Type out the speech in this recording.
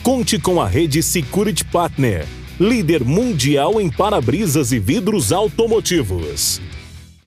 Conte com a rede Security Partner, líder mundial em para-brisas e vidros automotivos.